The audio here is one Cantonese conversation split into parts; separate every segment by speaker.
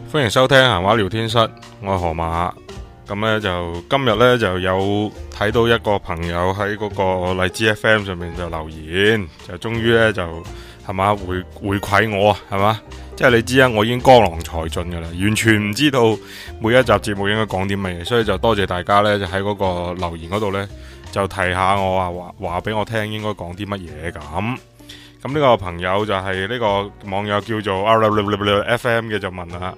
Speaker 1: 歡迎收聽閒話聊天室，我係河馬。咁呢就今日呢就有睇到一個朋友喺嗰個荔枝 FM 上面就留言，就終於呢就係嘛回饋我啊，係嘛，即係你知啊，我已經江郎才盡噶啦，完全唔知道每一集節目應該講啲乜嘢，所以就多謝大家呢，就喺嗰個留言嗰度呢，就提下我啊，話俾我聽應該講啲乜嘢咁。咁呢個朋友就係呢個網友叫做 FM 嘅，就問啦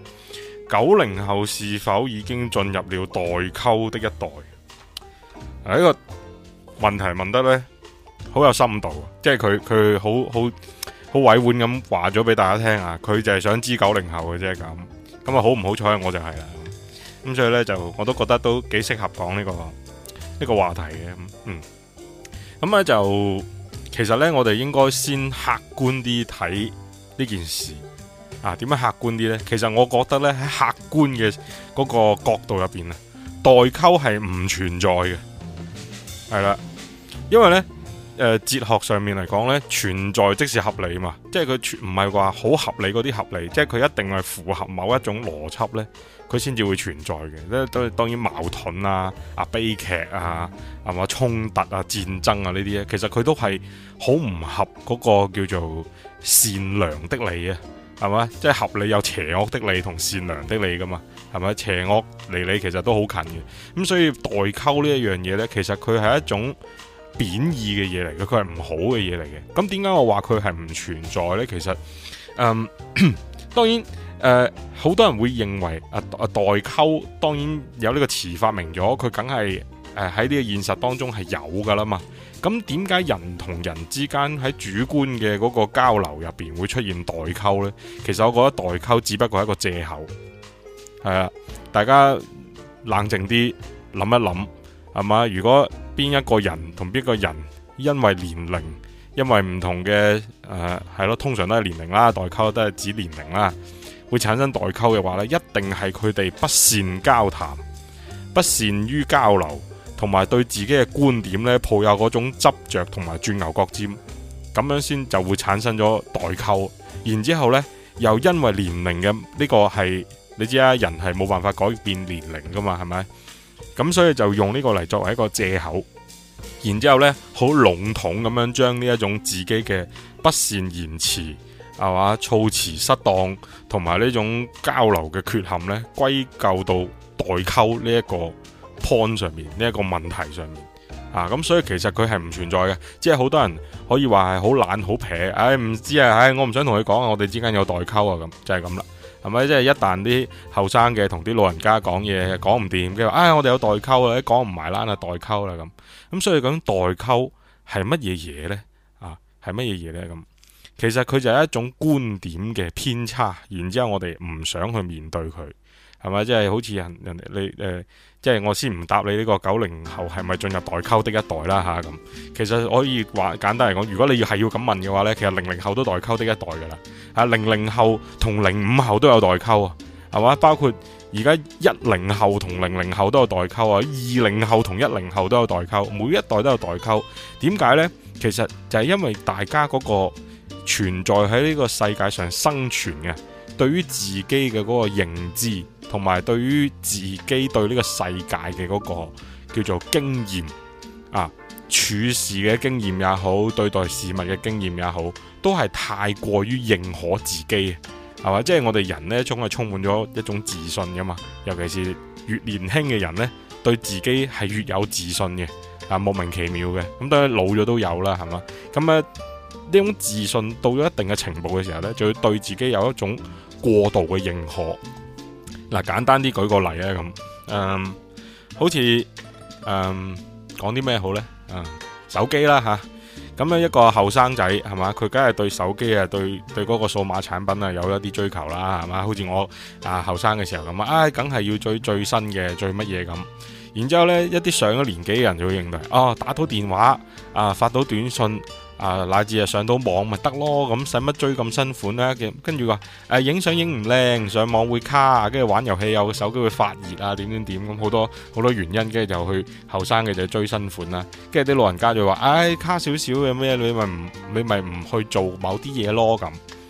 Speaker 1: ：90後是否已經進入了代溝的一代？呢個問題問得呢好有深度，即係佢好委婉咁話咗俾大家聽啊！佢就係想知90後嘅啫咁啊，好唔好彩我就係啦。咁所以呢，就我都覺得都幾適合講呢個話題嘅。咁咧就。其實呢，我哋應該先客觀啲睇呢件事啊。點樣客觀啲呢？其實我覺得呢，喺客觀嘅嗰個角度入邊啊，代溝係唔存在嘅，係啦。因為呢，哲學上面嚟講呢，存在即是合理嘛，即係佢唔係話好合理嗰啲合理，即係佢一定係符合某一種邏輯呢，佢先至會存在嘅。當然矛盾啊、悲劇啊、係嘛衝突啊、戰爭啊呢啲咧，其實佢都係好唔合嗰個叫做善良的理啊，係嘛？即係合理有邪惡的理同善良的理噶嘛，係咪？邪惡離理其實都好近嘅，咁所以代溝呢一樣嘢呢，其實佢係一種貶義嘅嘢嚟嘅，佢係唔好嘅嘢嚟嘅。咁點解我話佢係唔存在呢？其實，當然，好多人會認為代溝，當然有呢個詞發明咗，佢梗係喺呢個現實當中係有噶啦嘛。咁點解人同人之間喺主觀嘅嗰個交流入邊會出現代溝呢？其實我覺得代溝只不過係一個借口，係啊，大家冷靜啲諗一諗，係嘛？如果邊一個人同邊個人因為年齡，因為唔同嘅係咯，通常都係年齡啦，代溝都係指年齡啦，會產生代溝嘅話呢，一定係佢哋不善交談，不善於交流，同埋對自己嘅觀點呢抱有嗰種執着同埋鑽牛角尖，咁樣先就會產生咗代溝。然之後呢，又因為年齡嘅呢個係你知啊，人係冇辦法改變年齡噶嘛，係咪？咁所以就用呢個嚟作為一個借口，然之後呢好籠統咁樣將呢一種自己嘅不善言辭係嘛，措辭失當同埋呢種交流嘅缺陷呢，歸咎到代溝呢一個 point 上面，呢一個問題上面啊。咁所以其實佢係唔存在嘅，即係好多人可以話係好懶好撇，唔知啊，我唔想同佢講，我哋之間有代溝啊，咁就係咁啦。係咪？即係一旦啲後生嘅同啲老人家講嘢講唔掂，跟住話我哋有代溝啦，講唔埋啦，代溝啦咁。所以講代溝係乜嘢嘢呢？係乜嘢嘢呢？咁其實佢就係一種觀點嘅偏差，然之後我哋唔想去面對佢，係咪？即係好似人哋你即係我先唔答你呢個90後係咪進入代溝的一代啦吓咁。其實可以話簡單嚟講，如果你係要咁問嘅話呢，其實00後都代溝的一代噶啦。00後同05後都有代溝啊，係嘛？包括而家10後同00後都有代溝啊，20後同10後都有代溝，每一代都有代溝。點解呢？其實就係因為大家嗰個存在喺呢個世界上生存嘅，對於自己嘅嗰個認知，同埋對於自己對呢個世界嘅嗰個叫做經驗啊，處事嘅經驗也好，對待事物嘅經驗也好，都係太過於認可自己，係嘛？即係我哋人呢，總係充滿咗一種自信噶嘛，尤其是越年輕嘅人呢，對自己係越有自信嘅，莫名其妙嘅。咁當然老咗都有啦，係嘛？咁呢種自信到咗一定嘅程度嘅時候呢，就要對自己有一種過度嘅認可。簡單啲舉個例啊，咁，好似講啲咩好呢？手機啦吓，咁樣一個後生仔係嘛，佢梗係對手機啊，對嗰個數碼產品啊有一啲追求啦，係嘛？好似我後生嘅時候咁啊，梗係要追最新嘅最乜嘢咁。然之後呢，一啲上咗年紀嘅人就會認為打到電話發到短信乃至上到網咪得咯，咁使乜追咁新款呢？跟住話影相影唔靚，上網會卡，跟住玩遊戲有個手機會發熱啊，點咁好多原因，跟住就去後生嘅就追新款啦。跟住啲老人家就話卡少少嘅咩，你咪唔去做某啲嘢咯咁。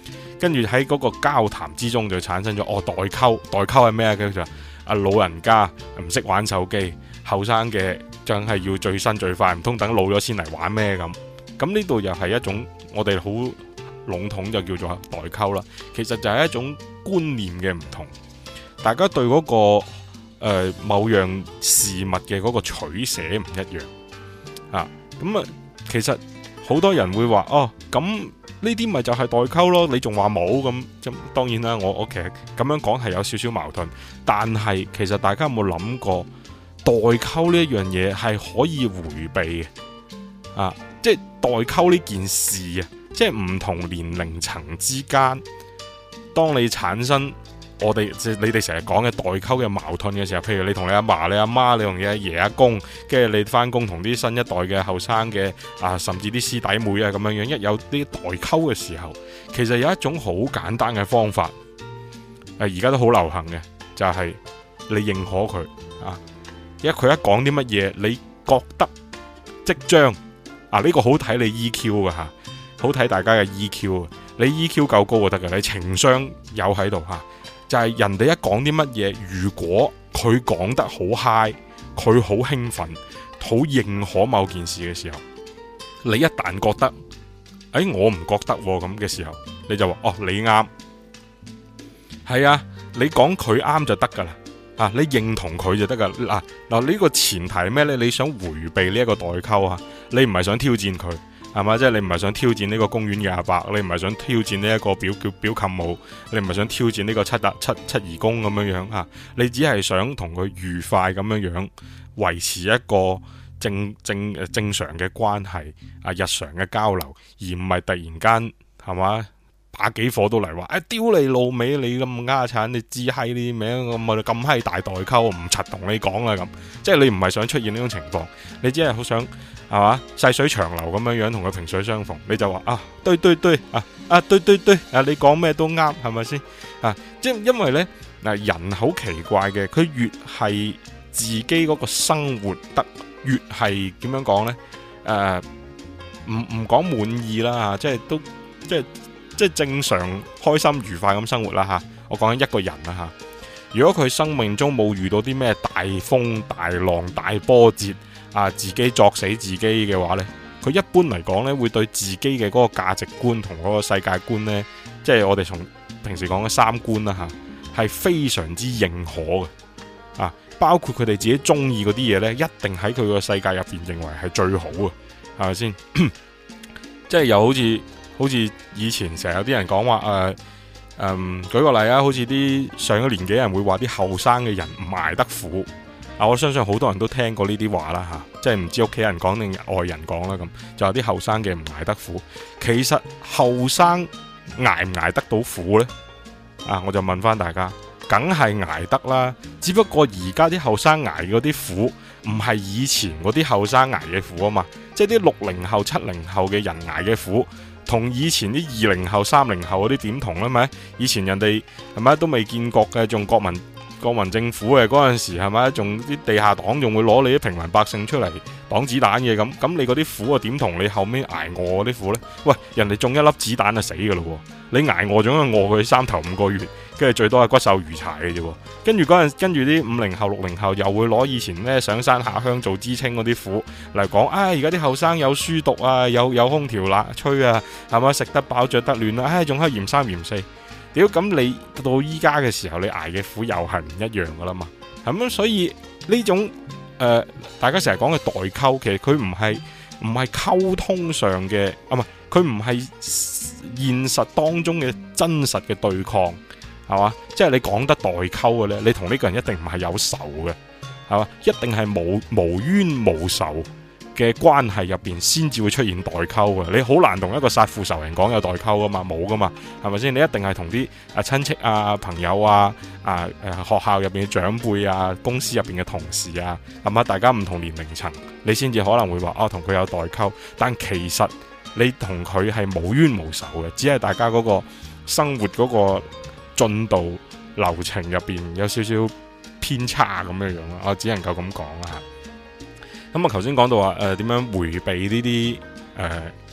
Speaker 1: 跟住喺嗰個交談之中就產生咗代溝。代溝係咩啊？叫做老人家唔識玩手機，後生嘅淨係要最新最快，唔通等老咗先嚟玩咩咁？咁呢度又係一種我哋好籠統就叫做代溝啦。其實就係一種觀念嘅唔同，大家對嗰個某樣事物嘅嗰個取捨唔一樣啊。咁啊，其實好多人會話咁呢啲咪就係代溝咯，你仲話冇咁？當然啦，我其實咁樣講係有少少矛盾，但係其實大家有冇諗過代溝呢一樣嘢係可以迴避嘅啊？即係代溝呢件事啊，即係唔同年齡層之間，當你產生你哋成日講嘅代溝嘅矛盾嘅時候，譬如你同你阿爸、你阿媽、你同你阿爺阿公，跟住你翻工同啲新一代嘅後生嘅甚至啲師弟妹啊咁樣樣，一有啲代溝嘅時候，其實有一種好簡單嘅方法，而家都好流行嘅，就係你認可佢啊，因為佢一講啲乜嘢，你覺得即將呢個好睇你 EQ 噶吓，好睇大家嘅 EQ， 你 EQ 夠高就得噶，你情商有喺度吓。就係人哋一講啲乜嘢，如果佢講得好 high， 佢好興奮，好認可某件事嘅時候，你一旦覺得，我唔覺得咁嘅時候，你就話你啱，係啊，你講佢啱就得噶啦，你認同佢就得噶啦。嗱呢個前提係咩呢？你想回避呢一個代溝啊，你唔係想挑戰佢。係嘛？即係你唔係想挑戰呢個公園嘅阿伯，你唔係想挑戰呢一個表舅母，你唔係想挑戰呢個七姨公咁樣樣啊？你只係想同佢愉快咁樣樣維持一個正常嘅關係日常嘅交流，而唔係突然間係嘛打幾火都嚟話丟你老味，你咁丫產，你知閪呢啲名咁閪大代溝，唔柒同你講啦咁。即係你唔係想出現呢種情況，你只係好想係嘛細水長流咁樣樣同佢萍水相逢，你就話對對對你講咩都啱，係咪先即係因為呢人好奇怪嘅，佢越係自己嗰個生活得越係點樣講呢？唔講滿意啦，即係都即係正常開心愉快咁生活啦吓。我講緊一個人啦吓，如果佢生命中冇遇到啲咩大風大浪大波折自己作死自己嘅話呢，佢一般嚟講呢會對自己嘅嗰個價值觀同嗰個世界觀呢，即係我哋從平時講嘅三觀啦吓，係非常之認可嘅包括佢哋自己中意嗰啲嘢呢，一定喺佢個世界入邊認為係最好嘅，係咪先？即係又好似以前成日有啲人講話舉個例好似啲上咗年紀人會話啲後生嘅人唔捱得苦我相信好多人都聽過呢啲話啦吓，即係唔知屋企人講定外人講啦咁，就有啲後生嘅唔捱得苦。其實後生捱唔捱得到苦呢？我就問翻大家，梗係捱得啦，只不過而家啲後生捱嗰啲苦唔係以前嗰啲後生捱嘅苦啊嘛，即係啲60後、70後嘅人捱嘅苦，同以前啲20後、30後嗰啲點同咧？咪以前人哋係咪都未見過嘅，仲國民政府嘅嗰陣時係咪？仲啲地下黨仲會攞你啲平民百姓出嚟擋子彈嘅咁你嗰啲苦點同你後尾捱餓嗰啲苦呢？喂，人哋中一粒子彈就死噶咯，你捱餓咗餓佢3頭5個月，跟住最多係骨瘦如柴嘅啫。跟住啲50後、60後又會攞以前咩上山下鄉做知青嗰啲苦嚟講，而家啲後生有書讀有空調吹係咪？食得飽着得暖啦，仲係嫌3嫌4。屌，咁你到依家嘅時候，你捱嘅苦又係唔一樣噶啦嘛，係咁，所以呢種大家成日講嘅代溝，其實佢唔係溝通上嘅，佢唔係現實當中嘅真實嘅對抗，係嘛？即係你講得代溝嘅咧，你同呢個人一定唔係有仇嘅，係嘛？一定係無冤無仇嘅關係入邊先至會出現代溝嘅，你好難同一個殺父仇人講有代溝噶嘛，冇噶嘛，係咪先？你一定係同啲親戚朋友學校入邊嘅長輩公司入邊嘅同事係嘛？大家唔同年齡層，你先至可能會話同佢有代溝，但其實你同佢係無冤無仇嘅，只係大家嗰個生活嗰個進度流程入邊有少少偏差咁樣樣啦，我只能夠咁講啦。咁頭先講到話點樣迴避呢啲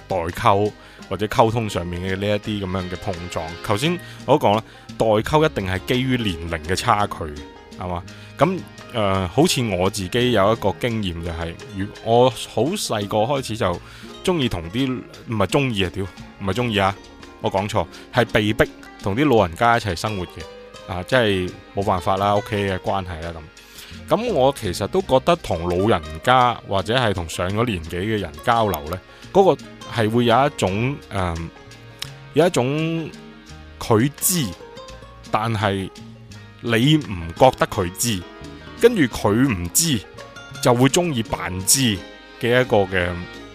Speaker 1: 代溝或者溝通上面嘅呢一啲咁樣嘅碰撞。頭先我都講啦，代溝一定係基於年齡嘅差距，係嘛？咁好似我自己有一個經驗就係，我好細個開始就中意同啲唔係中意啊，唔係中意啊，我講錯，係被逼同啲老人家一齊生活嘅，即係冇辦法啦，屋企嘅關係啦咁。咁我其實都覺得同老人家或者係同上咗年紀嘅人交流呢，嗰個係會有一種佢知，但係你唔覺得佢知，跟住佢唔知就會中意扮知嘅一個嘅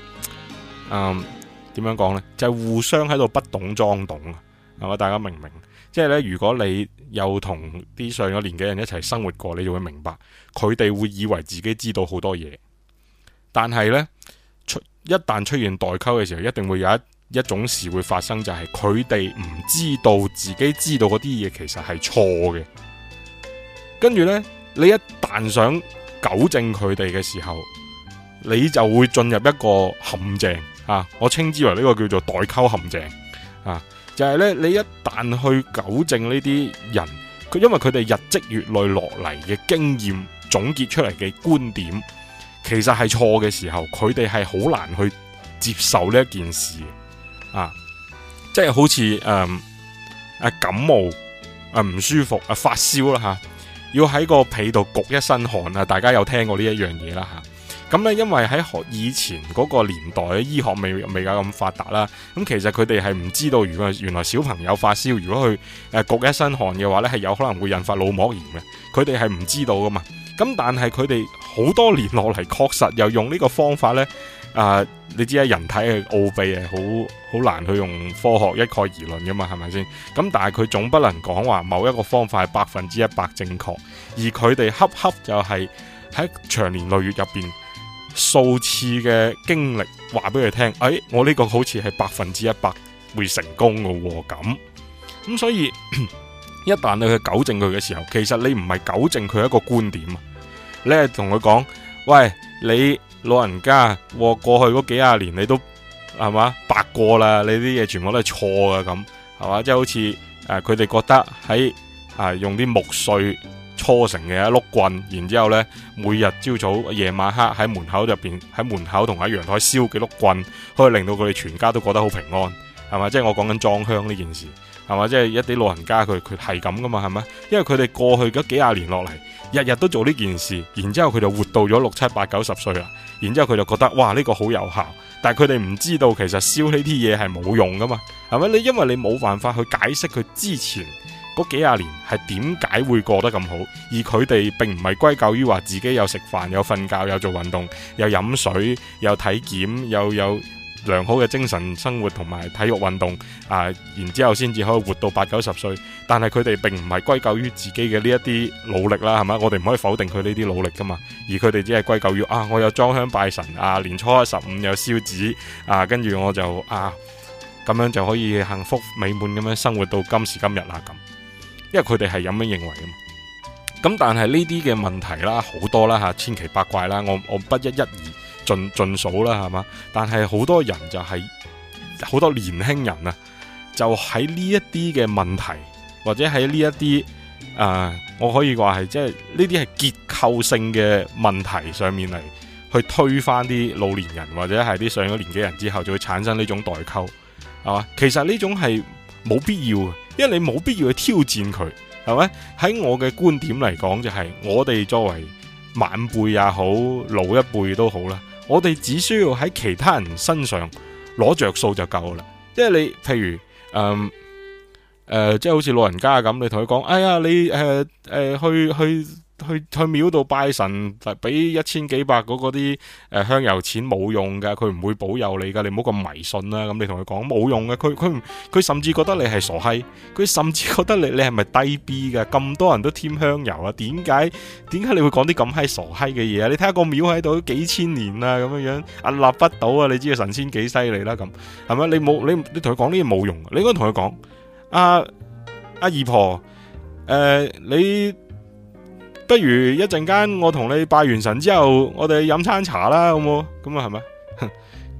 Speaker 1: 點樣講呢？就係互相喺度不懂裝懂啊，係嘛？大家明唔明？即係咧，如果你又同啲上咗年紀人一齊生活過，你就會明白，佢哋會以為自己知道好多嘢，但係呢，一旦出現代溝嘅時候，一定會有一種事會發生，就係佢哋唔知道自己知道嗰啲嘢其實係錯嘅。跟住呢，你一旦想糾正佢哋嘅時候，你就會進入一個陷阱啊！我稱之為呢個叫做代溝陷阱啊！就係咧，你一旦去糾正呢啲人，因為佢哋日積月累落嚟嘅經驗總結出嚟嘅觀點，其實係錯嘅時候，佢哋係好難去接受呢一件事啊！即係好似感冒唔舒服發燒啦吓，要喺個被度焗一身汗啊！大家有聽過呢一樣嘢啦吓。咁咧，因為喺以前嗰個年代，醫學未有咁發達啦。咁其實佢哋係唔知道，如果原來小朋友發燒，如果佢焗一身汗嘅話呢，係有可能會引發腦膜炎嘅。佢哋係唔知道噶嘛。咁但係佢哋好多年落嚟，確實又用呢個方法呢。你知啊，人體嘅奧秘係好難去用科學一概而論噶嘛，係咪先？咁但係佢總不能講話某一個方法係100%正確，而佢哋恰就係喺長年累月入邊。數次嘅經歷話俾佢聽，我呢個好似係100%會成功嘅咁，所以一旦你去糾正佢嘅時候，其實你唔係糾正佢一個觀點啊，你係同佢講，喂，你老人家過去嗰幾廿年你都係嘛白過啦，你啲嘢全部都係錯嘅咁，係嘛？即係好似佢哋覺得喺用啲木碎搓成嘅一碌棍，然之後呢，每日朝早夜晚黑喺門口入邊，喺門口同喺陽台燒幾碌棍，可以令到佢哋全家都覺得好平安，係嘛？即係我講緊裝香呢件事，係嘛？即係一啲老人家佢係咁噶嘛，係咪？因為佢哋過去嗰幾廿年落嚟，日日都做呢件事，然之後佢就活到咗6、7、8、9、10歲啦，然之後佢就覺得哇，呢個好有效，但係佢哋唔知道其實燒呢啲嘢係冇用噶嘛，係咪？因為你冇辦法去解釋佢之前嗰幾廿年係點解會過得咁好，而佢哋並唔係歸咎於話自己有食飯、有瞓覺、有做運動、有飲水、有體檢、有良好嘅精神生活同埋體育運動然之後先至可以活到8、9、10歲。但係佢哋並唔係歸咎於自己嘅呢一啲努力啦，係咪？我哋唔可以否定佢呢啲努力噶嘛。而佢哋只係歸咎於我有裝香拜神年初一十五有燒紙跟住我就咁樣就可以幸福美滿咁樣生活到今時今日啦咁。因為佢哋係咁樣認為嘅嘛，咁但係呢啲嘅問題啦，好多啦千奇百怪啦，我不一而盡數啦，係嘛？但係好多人就係好多年輕人就喺呢一啲嘅問題，或者喺呢一啲我可以話係即係呢啲係結構性嘅問題上面嚟去推翻啲老年人或者係啲上咗年紀人之後，就會產生呢種代溝，係嘛？其實呢種係冇必要嘅。因為你冇必要去挑戰佢，係咪？喺我嘅觀點嚟講，就係我哋作為晚輩也好，老一輩都好啦，我哋只需要喺其他人身上攞着數就夠啦。即係你譬如即係好似老人家咁，你同佢講，哎呀，你去廟度拜神，俾1000幾百嗰啲香油錢冇用噶，佢唔會保佑你噶，你唔好咁迷信啦。咁你同佢講冇用嘅，佢甚至覺得你係傻閪，佢甚至覺得你係咪低 B 噶？咁多人都添香油啊，點解你會講啲咁閪傻閪嘅嘢啊？你睇下個廟喺度都幾千年啦，咁樣屹立不倒啊！你知道神仙幾犀利啦？咁係咪？你同佢講呢嘢冇用，你應該同佢講，阿姨婆，你不如一陣間我同你拜完神之後，我哋飲餐茶啦，好冇？咁係咪？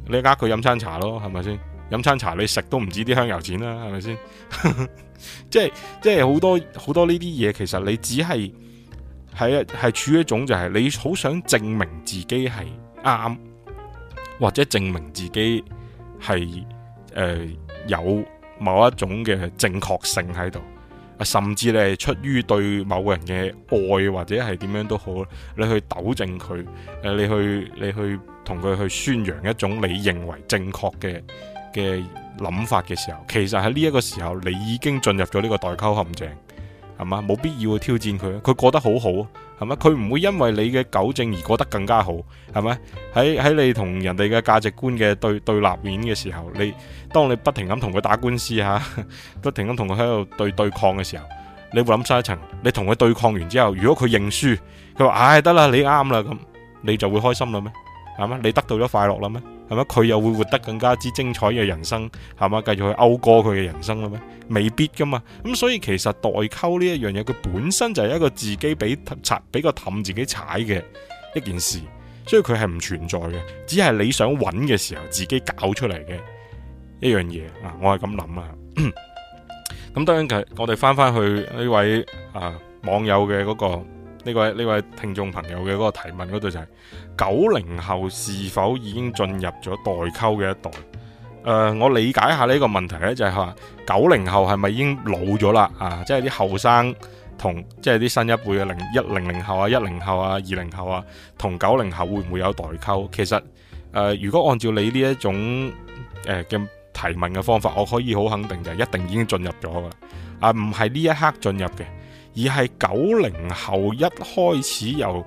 Speaker 1: 你佢飲餐茶咯，係咪先？飲餐茶你食都唔止啲香油錢啦，係咪先？即係好多呢啲嘢，其實你只係處於一種就係你好想證明自己係啱，或者證明自己係有某一種嘅正確性喺度，甚至你係出於對某個人嘅愛或者係點樣都好，你去糾正佢，你去同佢去宣揚一種你認為正確嘅諗法嘅時候，其實喺呢一個時候你已經進入咗呢個代溝陷阱，係嘛？冇必要去挑戰佢，佢過得好好，係咪？佢唔會因為你嘅糾正而過得更加好，係咪？喺你同人哋嘅價值觀嘅對立面嘅時候，當你不停咁同佢打官司吓，不停咁同佢喺度對抗嘅時候，你會諗深一層，你同佢對抗完之後，如果佢認輸，佢話唉得啦，你啱啦，咁你就會開心啦咩？係嘛？你得到咗快樂啦咩？係咪？佢又會活得更加之精彩嘅人生，係嘛？繼續去謳歌佢嘅人生啦咩？未必噶嘛。咁所以其實代溝呢一樣嘢，佢本身就係一個自己俾個氹自己踩嘅一件事，所以佢係唔存在嘅，只係你想揾嘅時候自己搞出嚟嘅一樣嘢啊！我係咁諗啊。咁當然我哋翻去呢位網友嘅嗰個。呢位聽眾朋友嘅嗰個提問嗰度就係90後是否已經進入咗代溝嘅一代？我理解下呢個問題呢，就係話90後係咪已經老咗啦？即係啲後生同即係啲新一輩嘅00後啊、10後啊、20後啊，同90後會唔會有代溝？其實如果按照你呢一種嘅提問嘅方法，我可以好肯定就係一定已經進入咗噶，唔係呢一刻進入嘅。而係90後一開始由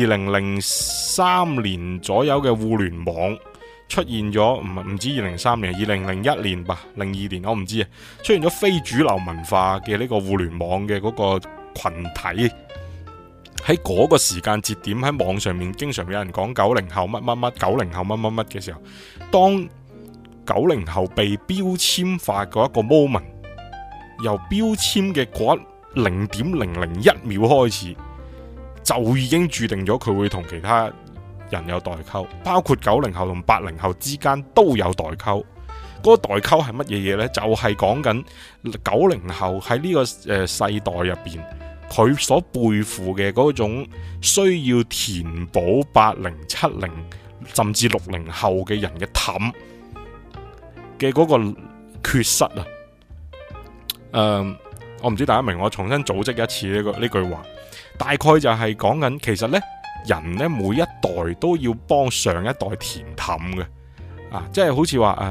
Speaker 1: 2003年左右嘅互聯網出現咗，唔止2003年，2001年吧，02年我唔知啊，出現咗非主流文化嘅呢個互聯網嘅嗰個群體，喺嗰個時間節點喺網上面經常有人講90後乜乜乜，90後乜乜乜嘅時候，當90後被標籤化嗰一個 moment， 由標籤嘅嗰0.001秒開始，就已經注定咗佢會同其他人有代溝，包括90後同80後之間都有代溝。嗰個代溝係乜嘢嘢呢？就係講緊90後喺呢個世代入邊，佢所背負嘅嗰種需要填補80、70甚至60後嘅人嘅氹嘅嗰個缺失啊！我唔知大家明，我重新組織一次呢句話，大概就係講緊，其實呢，人呢每一代都要幫上一代填氹嘅，即係好似話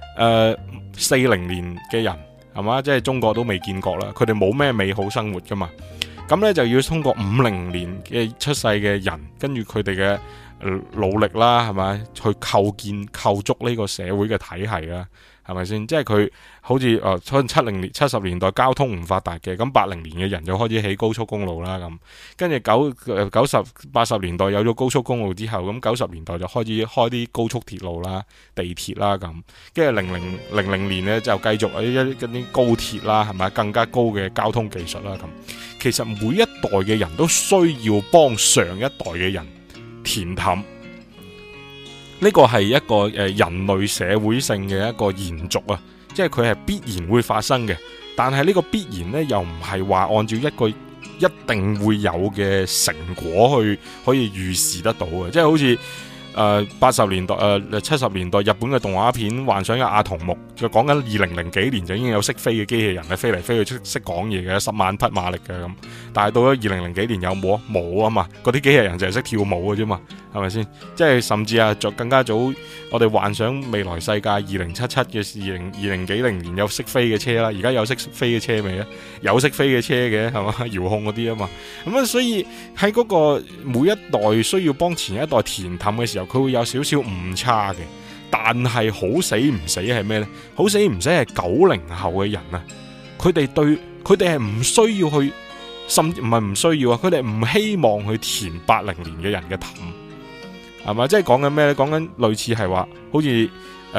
Speaker 1: 40年嘅人係嘛，即係中國都未見過啦，佢哋冇咩美好生活噶嘛，咁呢，就要通過50年嘅出世嘅人，跟住佢哋嘅努力啦，係咪去構築呢個社會嘅體系啦。係咪先？即係佢好似70年代交通唔發達嘅，咁80年嘅人就開始起高速公路啦，咁跟住90、80年代有咗高速公路之後，咁90年代就開始開啲高速鐵路啦、地鐵啦，咁跟住00年呢，就繼續嗰啲高鐵啦，係咪更加高嘅交通技術啦，咁其實每一代嘅人都需要幫上一代嘅人填氹。呢個係一個人類社會性嘅一個延續啊，即係佢係必然會發生嘅，但係呢個必然呢，又唔係話按照一個一定會有嘅成果去可以預示得到嘅，即係好似80年代70年代日本嘅動畫片幻想嘅阿童木，就講緊2000幾年就已經有識飛嘅機器人咧，飛嚟飛去識講嘢嘅，10萬匹馬力嘅咁，但係到咗2000幾年有冇啊嘛？嗰啲機器人就係識跳舞嘅啫嘛，係咪先？即係甚至更加早，我哋幻想未來世界2077嘅20幾年有識飛嘅車啦，而家有識飛嘅車未咧？有識飛嘅車嘅係嘛？遙控嗰啲啊嘛，咁所以喺嗰個每一代需要幫前一代填氹嘅時候，佢會有少少誤差嘅，但係好死唔死係咩呢？好死唔死係90後嘅人啊！佢哋係唔需要去，甚至唔係唔需要啊！佢哋唔希望去填80年嘅人嘅氹，係嘛？即係講緊咩呢？講緊類似係話，好似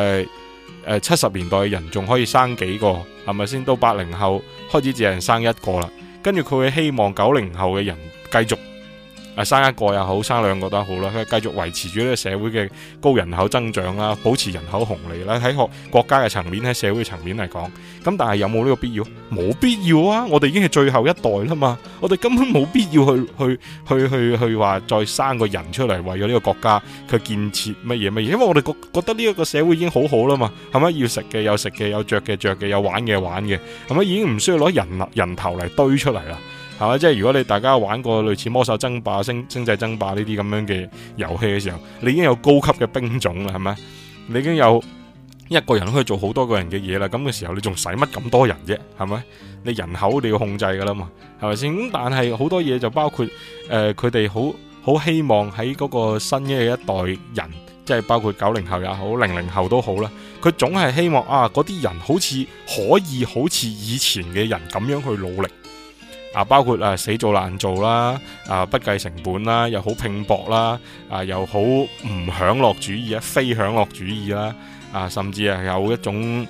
Speaker 1: 70年代嘅人仲可以生幾個，係咪先？到80後開始只係生一個啦，跟住佢會希望90後嘅人繼續生一個又好，生兩個都好啦，佢繼續維持住呢個社會嘅高人口增長啦，保持人口紅利啦。喺國家嘅層面，喺社會嘅層面嚟講，咁但係有冇呢個必要？冇必要啊！我哋已經係最後一代啦嘛，我哋根本冇必要去話再生個人出嚟，為咗呢個國家佢建設乜嘢乜嘢，因為我哋覺得呢一個社會已經好好啦嘛，係咪？要食嘅有食嘅，有着嘅着嘅，有玩嘅玩嘅，係咪？已經唔需要攞人頭嚟堆出嚟啦。係嘛？即係如果你大家玩過類似魔獸爭霸、星際爭霸呢啲咁樣嘅遊戲嘅時候，你已經有高級嘅兵種啦，係咪？你已經有一個人可以做好多個人嘅嘢啦。咁嘅時候，你仲使乜咁多人啫？係咪？你人口你要控制噶啦嘛，係咪先？咁但係好多嘢就包括佢哋好希望喺嗰個新嘅一代人，即係包括90後也好，00後都好啦。佢總係希望嗰啲人好似可以好似以前嘅人咁樣去努力。包括死做爛做啦，不計成本啦，又好拼搏啦，又好唔享樂主義非享樂主義啦，甚至係有一種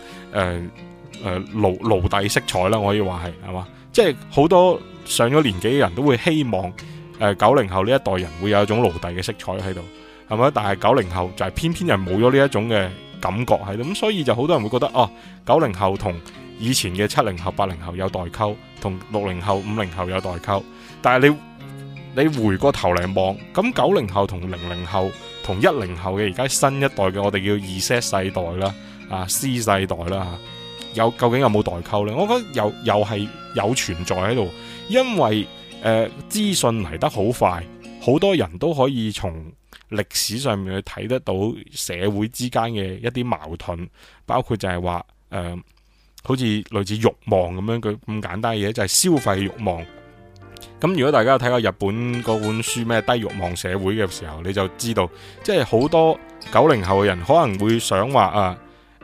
Speaker 1: 奴隸色彩啦，我可以話係嘛？即係好多上咗年紀嘅人都會希望90後呢一代人會有一種奴隸嘅色彩喺度，係咪？但係90後就係偏偏係冇咗呢一種嘅感覺喺度，咁所以就好多人會覺得90後同以前嘅70後、80後有代溝，同60後、50後有代溝。但係你回過頭嚟望，咁90後同00後同10後嘅而家新一代嘅我哋叫 Z 世代啦，C 世代啦，究竟有冇代溝呢？我覺得又係有存在喺度，因為資訊嚟得好快，好多人都可以從歷史上面去睇得到社會之間嘅一啲矛盾，包括就係話好似類似慾望咁樣佢咁簡單嘅嘢，就係消費慾望。咁如果大家有睇過日本嗰本書咩低慾望社會嘅時候，你就知道，即係好多90後嘅人可能會想話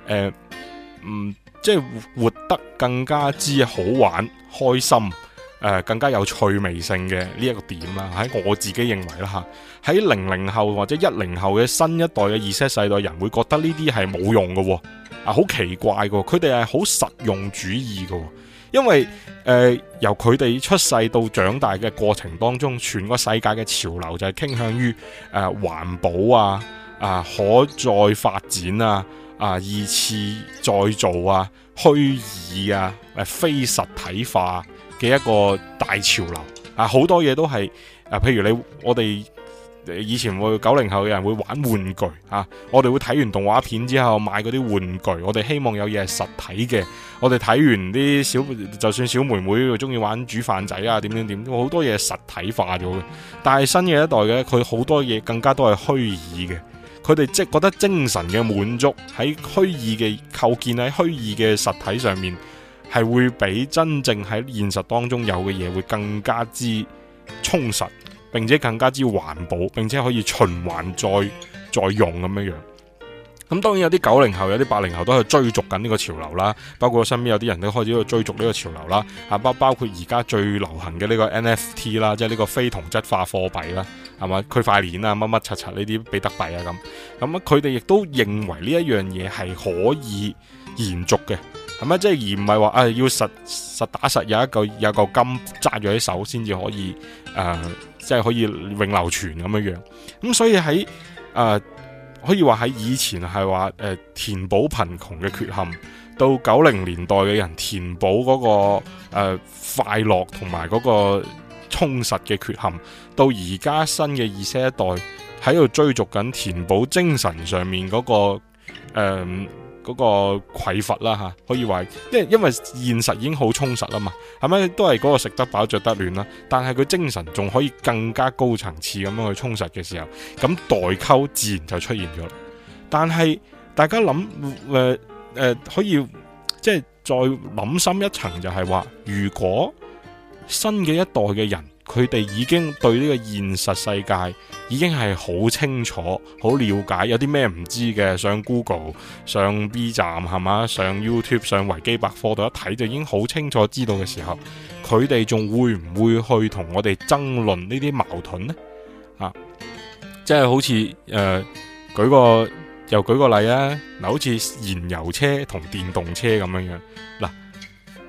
Speaker 1: 即係活得更加之好玩、開心，更加有趣味性嘅呢一個點啦。喺我自己認為啦嚇，喺00後或者10後嘅新一代嘅 Z 世代人會覺得呢啲係冇用嘅喎。好奇怪嘅，佢哋係好實用主義嘅，因為由佢哋出世到長大嘅過程當中，全個世界嘅潮流就係傾向於環保可再發展二次再造虛擬非實體化嘅一個大潮流好多嘢都係譬如我哋以前會90後嘅人會玩玩具我哋會睇完動畫片之後買嗰啲玩具，我哋希望有嘢係實體嘅。我哋睇完啲就算小妹妹中意玩煮飯仔點，好多嘢係實體化咗嘅。但係新嘅一代嘅佢好多嘢更加都係虛擬嘅，佢哋即係覺得精神嘅滿足喺虛擬嘅構建喺虛擬嘅實體上面，係會比真正喺現實當中有嘅嘢會更加之充實，並且更加之環保，並且可以循環再用咁樣樣。咁當然有啲90後、有啲80後都係追逐緊呢個潮流啦。包括我身邊有啲人都開始去追逐呢個潮流啦。包括而家最流行嘅呢個 NFT 啦，即係呢個非同質化貨幣啦，係嘛？區塊鏈乜乜柒柒呢啲比特幣咁佢哋亦都認為呢一樣嘢係可以延續嘅，係咪？即係而唔係話要實打實有嚿金揸住喺手先至可以即係可以永流傳咁樣樣。咁所以喺可以話喺以前係話填補貧窮嘅缺陷，到90年代嘅人填補嗰個快樂同埋嗰個充實嘅缺陷，到而家新嘅Z一代喺度追逐緊填補精神上面嗰個匱乏啦可以話，因為現實已經好充實啦嘛，係咪都係嗰個食得飽着得暖啦？但係佢精神仲可以更加高層次咁樣去充實嘅時候，咁代溝自然就出現咗。但係大家諗可以即係再諗深一層，就係話，如果新嘅一代嘅人，佢哋已經對呢個現實世界已經係好清楚、好了解，有啲咩唔知嘅，上 Google、上 B 站係嘛，上 YouTube、上維基百科度一睇就已經好清楚知道嘅時候，佢哋仲會唔會去同我哋爭論呢啲矛盾呢？即係好似又舉個例好似燃油車同電動車咁樣樣嗱。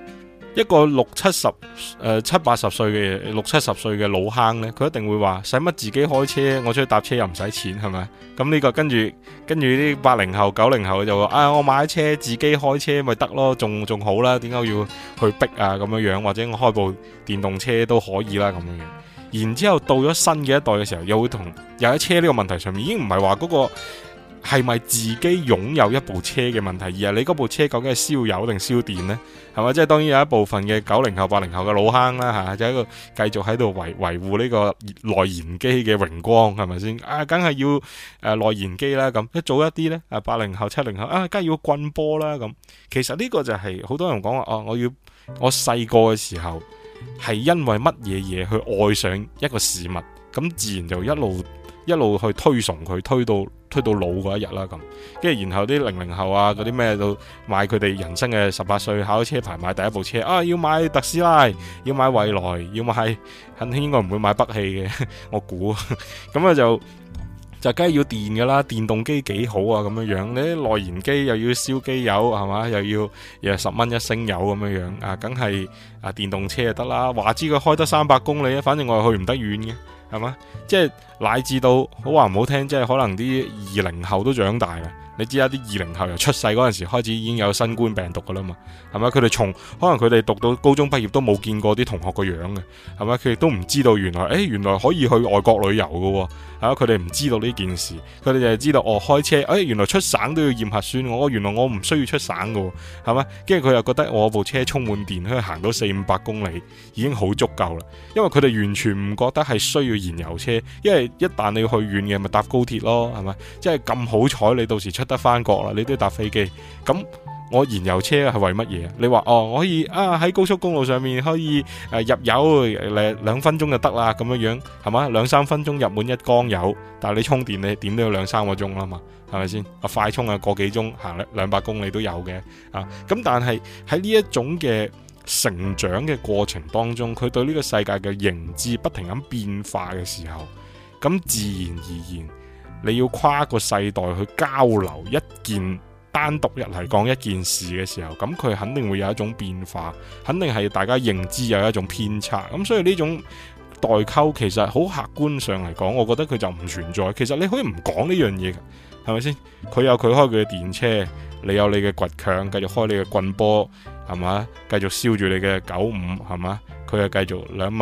Speaker 1: 一個七八十歲嘅老坑呢，佢一定會話使乜自己開車，我出去搭車又唔使錢，係咪？咁呢個跟住啲80後90後就話我買車自己開車咪得咯，仲好啦，點解要去逼啊咁樣，或者我開部電動車都可以啦咁樣。然之後到咗新嘅一代嘅時候，又會又喺車呢個問題上面，已經唔係話嗰個係咪自己擁有一部車嘅問題，而係你嗰部車究竟係燒油定燒電呢？係咪？即係當然有一部分嘅90後80後嘅老坑啦嚇，就喺度繼續喺度維護呢個內燃機嘅榮光，係咪先？梗係要內燃機啦咁。一早一啲呢，80後70後梗係要棍波啦咁。其實呢個就係好多人講話我細個嘅時候係因為乜嘢嘢去愛上一個事物，咁自然就一路去推崇佢，推到老嗰一日啦咁，跟住然後啲00後啊嗰啲咩都買佢哋人生嘅18歲考咗車牌買第一部車要買特斯拉，要買蔚來，要買肯定應該唔會買北汽嘅，我估咁啊就梗係要電噶啦，電動機幾好啊咁樣，你啲內燃機又要燒機油係嘛，又10蚊一升油咁樣梗係電動車就得啦，話知佢開得300公里啊，反正我係去唔得遠嘅。係嘛？即係乃至到好話唔好聽，即係可能啲20後都長大啦。你知啦，啲20後由出世嗰陣時開始已經有新冠病毒噶啦嘛，係咪？佢哋可能佢哋讀到高中畢業都冇見過啲同學個樣嘅，係咪？佢哋都唔知道原來可以去外國旅遊噶，係嘛？佢哋唔知道呢件事，佢哋就係知道開車，原來出省都要驗核酸，原來我唔需要出省噶，係咪？跟住佢又覺得我部車充滿電可以行到400-500公里已經好足夠啦，因為佢哋完全唔覺得係需要燃油車，因為一旦你要去遠嘅咪搭高鐵咯，係咪？即係咁好彩你到時出得翻國啦，你都要搭飛機。咁我燃油車係為乜嘢？你話我可以喺高速公路上面可以入油2分鐘就得啦，咁樣係嘛？2-3分鐘入滿一缸油，但係你充電你點都要2-3個鐘啦嘛，係咪先？快充個幾鐘行200公里都有嘅咁但係喺呢一種嘅成長嘅過程當中，佢對呢個世界嘅認知不停咁變化嘅時候，咁自然而然你要跨個世代去交流一件單獨嚟講一件事嘅時候，咁佢肯定會有一種變化，肯定係大家認知有一種偏差。咁所以呢種代溝其實好客觀上嚟講，我覺得佢就唔存在。其實你可以唔講呢樣嘢，係咪先？佢有佢開佢嘅電車，你有你嘅倔強，繼續開你嘅棍波，係嘛？繼續燒住你嘅95，係嘛？佢又繼續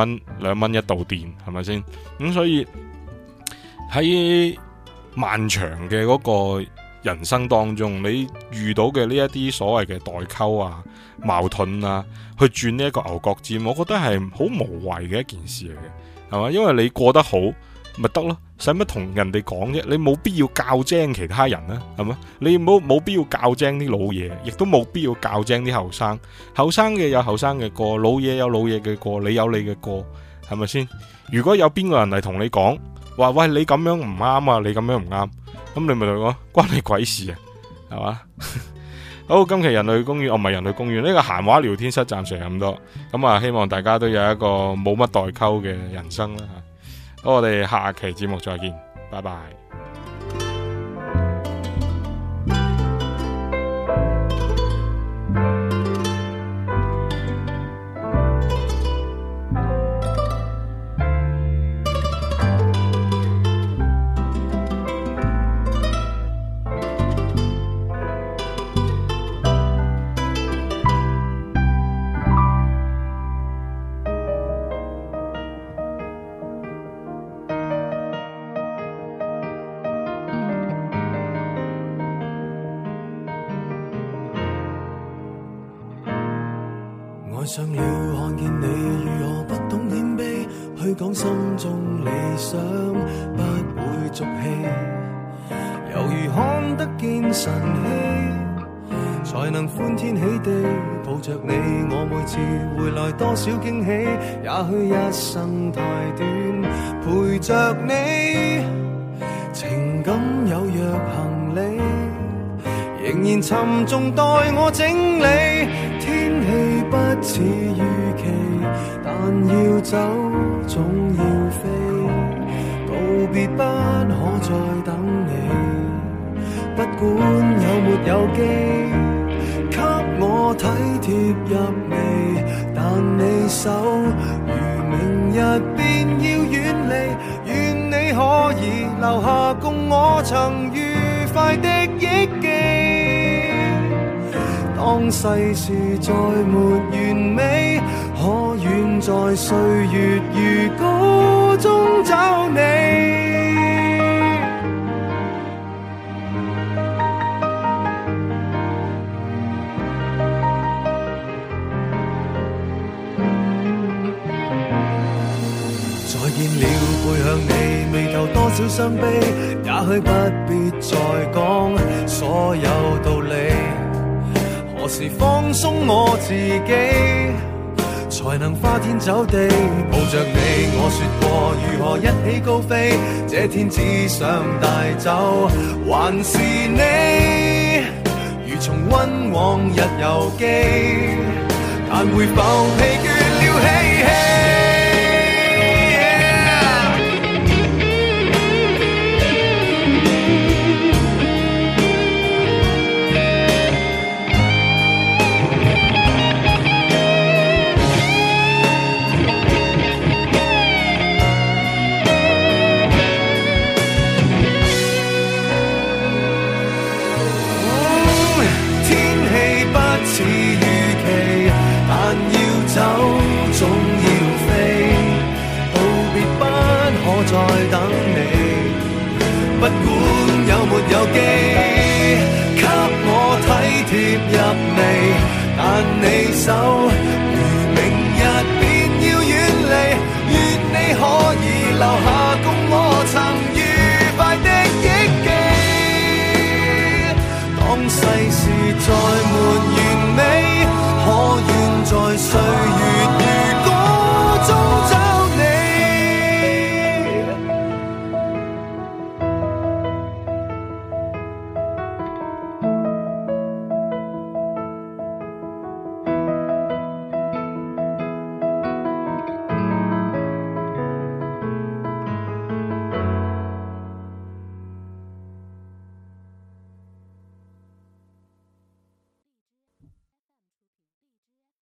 Speaker 1: 2蚊一度電，係咪先？咁所以喺漫長嘅嗰個人生當中，你遇到嘅呢一啲所謂嘅代溝矛盾去轉呢一個牛角尖，我覺得係好無謂嘅一件事嚟嘅，係嘛？因為你過得好咪得咯，使乜同人哋講啫？你冇必要教精其他人啦，係嘛？你冇必要教精啲老嘢，亦都冇必要教精啲後生。後生嘅有後生嘅過，老嘢有老嘢嘅過，你有你嘅過，係咪先？如果有邊個人嚟同你講話喂，你咁樣唔啱啊，你咁樣唔啱，咁你咪同佢講關你鬼事啊，係嘛？好，今期人類公園，唔係人類公園，呢個閒話聊天室暫時係咁多，咁希望大家都有一個冇乜代溝嘅人生啦吓。好，我哋下期節目再見，拜拜。
Speaker 2: 愛上了看見你如何不懂謙卑，去講心中理想不會俗氣，猶如看得見晨曦，才能歡天喜地抱着你。我每次回來多少驚喜，也許一生太短，陪着你，情感有若行李，仍然沉重待我整理。天氣不似預期，但要走總要飛，告別不可再等你，不管有沒有機，給我體貼入微， 但你手如明日便要遠離，願你可以留下共我曾愉快的憶記。當世事再沒完美，可願在歲月如歌中找你。再見了，背向你，眉頭多少傷悲，也許不必再講所有道理。何時放鬆我自己，才能花天酒地抱着你？我說過如何一起高飛，這天只想帶走還是你，如重溫往日遊記，但會否疲倦了嬉戲？似預期，但要走總要飛，道別不可再等你，不管有沒有機，給我體貼入微，但你手如